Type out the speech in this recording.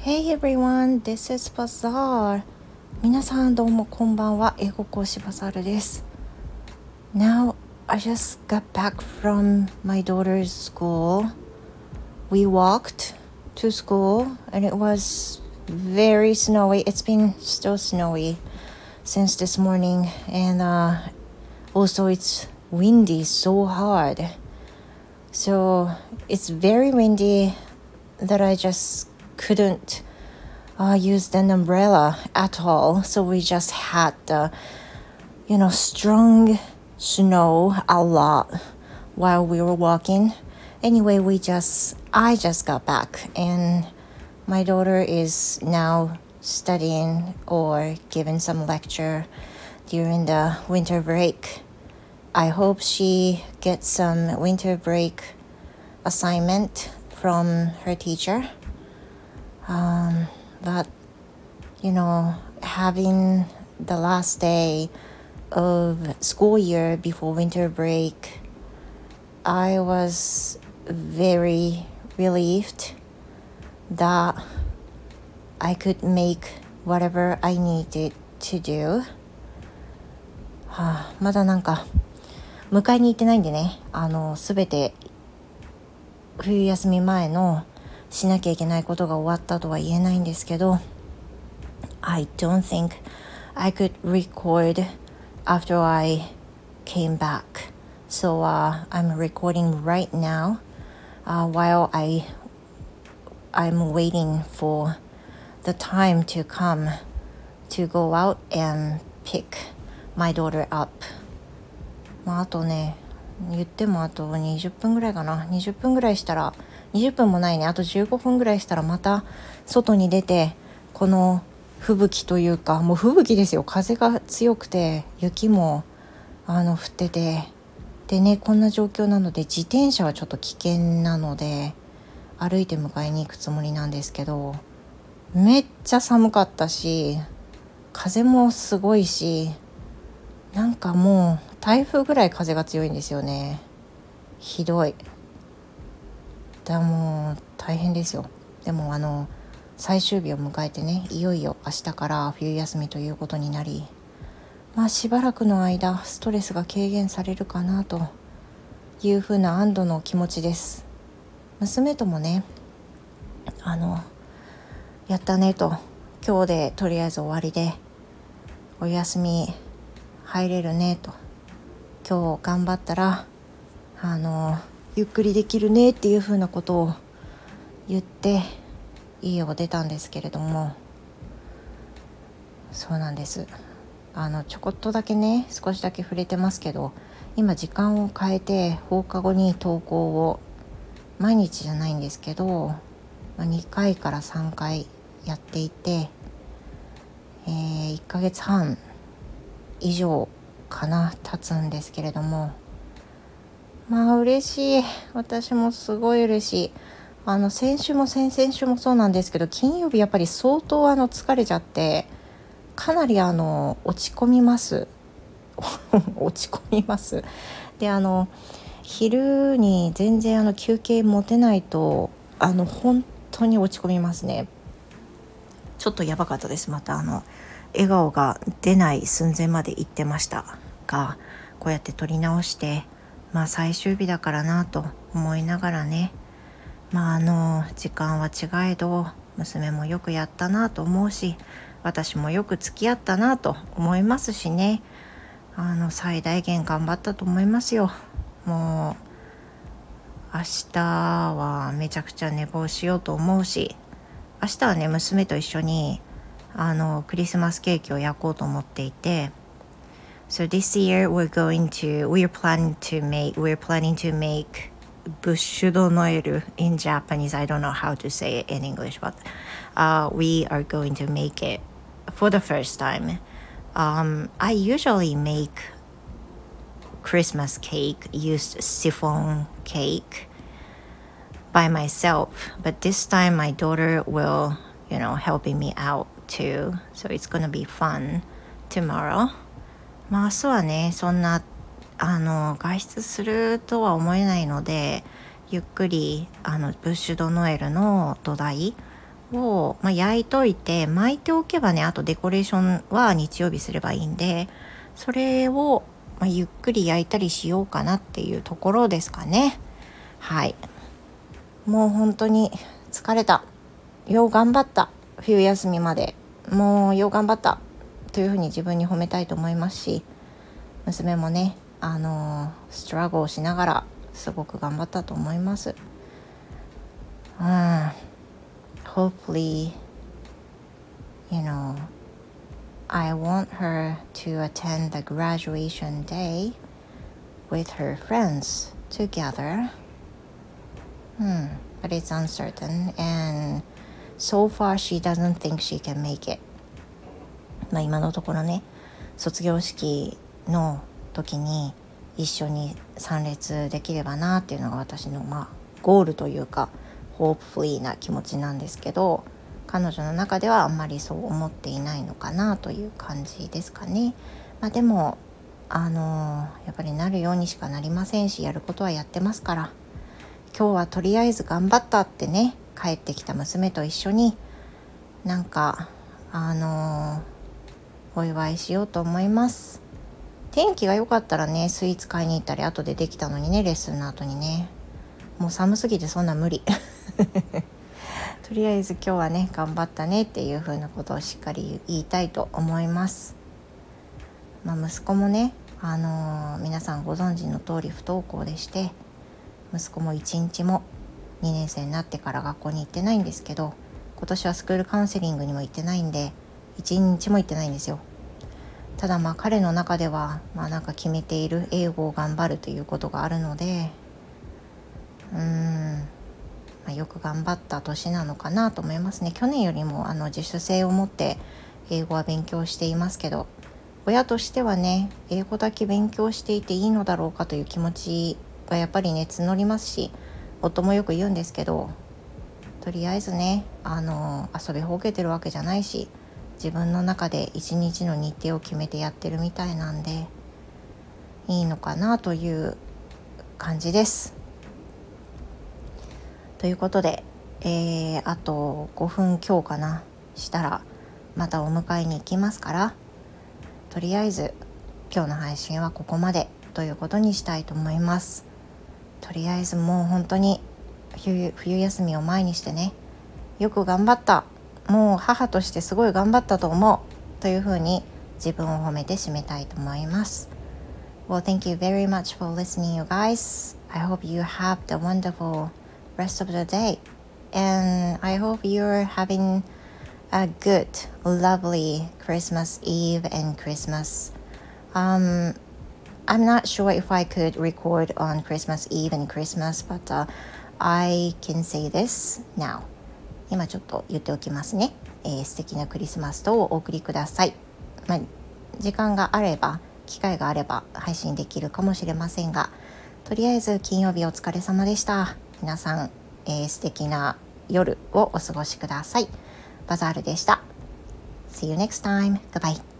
Hey everyone, this is Bazaar. 皆さんどうもこんばんは。英語講師バザールです。Now, I just got back from my daughter's school. We walked to school and it was very snowy. It's been still snowy since this morning and also it's windy so hard. So it's very windy that I just couldn't use an umbrella at all. So we just had the, strong snow a lot while we were walking. Anyway, I just got back and my daughter is now studying or giving some lecture during the winter break. I hope she gets some winter break assignment from her teacher. But, having the last day of school year before winter break, I was very relieved that I could make whatever I needed to do. まだ迎えに行ってないんでね、すべて冬休み前のしなきゃいけないことが終わったとは言えないんですけど、I don't think I could record after I came back. So I'm recording right now while I'm waiting for the time to come to go out and pick my daughter up. あとね、言ってもあと20分ぐらいかな。20分ぐらいしたら、20分もないね。あと15分ぐらいしたらまた外に出て、この吹雪というか、もう吹雪ですよ。風が強くて、雪も降ってて。でね、こんな状況なので、自転車はちょっと危険なので、歩いて迎えに行くつもりなんですけど、めっちゃ寒かったし、風もすごいし、もう台風ぐらい風が強いんですよね。ひどい。もう大変ですよ。でも最終日を迎えてね、いよいよ明日から冬休みということになり、しばらくの間ストレスが軽減されるかなというふうな安堵の気持ちです。娘ともね、やったねと、今日でとりあえず終わりでお休み入れるねと、今日頑張ったらゆっくりできるねっていう風なことを言って家を出たんですけれども、そうなんです。ちょこっとだけね、少しだけ触れてますけど、今時間を変えて放課後に登校を毎日じゃないんですけど、2回から3回やっていて、1ヶ月半以上かな経つんですけれども、嬉しい。私もすごい嬉しい。先週も先々週もそうなんですけど、金曜日やっぱり相当疲れちゃってかなり落ち込みます落ち込みます。で昼に全然休憩持てないと本当に落ち込みますね。ちょっとやばかったです。また笑顔が出ない寸前まで行ってましたが、こうやって撮り直して最終日だからなと思いながらね、時間は違えど娘もよくやったなと思うし、私もよく付き合ったなと思いますしね、最大限頑張ったと思いますよ。もう明日はめちゃくちゃ寝坊しようと思うし、明日はね、娘と一緒にクリスマスケーキを焼こうと思っていて、So this year we're planning to make Bushu do Noel in Japanese. I don't know how to say it in English, but we are going to make it for the first time. I usually make Christmas cake, used chiffon cake by myself, but this time my daughter will, helping me out too. So it's going to be fun tomorrow. 明日はね、そんな外出するとは思えないので、ゆっくりブッシュドノエルの土台を、焼いといて巻いておけばね、あとデコレーションは日曜日すればいいんで、それを、ゆっくり焼いたりしようかなっていうところですかね。はい、もう本当に疲れた。よう頑張った。冬休みまでもうよう頑張ったというふうに自分に褒めたいと思いますし、娘もね、ストラゴをしながらすごく頑張ったと思います。Hopefully, I want her to attend the graduation day with her friends together. But it's uncertain, and so far she doesn't think she can make it. 今のところね、卒業式の時に一緒に参列できればなっていうのが私のゴールというか、ホープフリーな気持ちなんですけど、彼女の中ではあんまりそう思っていないのかなという感じですかね。でもやっぱりなるようにしかなりませんし、やることはやってますから、今日はとりあえず頑張ったってね、帰ってきた娘と一緒になんかお祝いしようと思います。天気が良かったらね、スイーツ買いに行ったり後でできたのにね、レッスンの後にね、もう寒すぎてそんな無理とりあえず今日はね、頑張ったねっていう風なことをしっかり言いたいと思います。息子もね、皆さんご存知の通り不登校でして、息子も1日も2年生になってから学校に行ってないんですけど、今年はスクールカウンセリングにも行ってないんで1日も行ってないんですよ。ただ彼の中ではなんか決めている英語を頑張るということがあるので、よく頑張った年なのかなと思いますね。去年よりも自主性を持って英語は勉強していますけど、親としてはね、英語だけ勉強していていいのだろうかという気持ちがやっぱりね募りますし、夫もよく言うんですけど、とりあえずね遊びほうけてるわけじゃないし、自分の中で一日の日程を決めてやってるみたいなんでいいのかなという感じです。ということで、あと5分強かなしたらまたお迎えに行きますから、とりあえず今日の配信はここまでということにしたいと思います。とりあえずもう本当に冬休みを前にしてね、よく頑張った、もう母としてすごい頑張ったと思うというふうに自分を褒めて締めたいと思います。Well, thank you very much for listening, you guys. I hope you have the wonderful rest of the day, and I hope you're having a good, lovely Christmas Eve and Christmas. I'm not sure if I could record on Christmas Eve and Christmas, but I can say this now. 今ちょっと言っておきますね。素敵なクリスマスとお送りください。時間があれば、機会があれば配信できるかもしれませんが、とりあえず金曜日お疲れ様でした。皆さん、素敵な夜をお過ごしください。バザールでした。See you next time. Goodbye.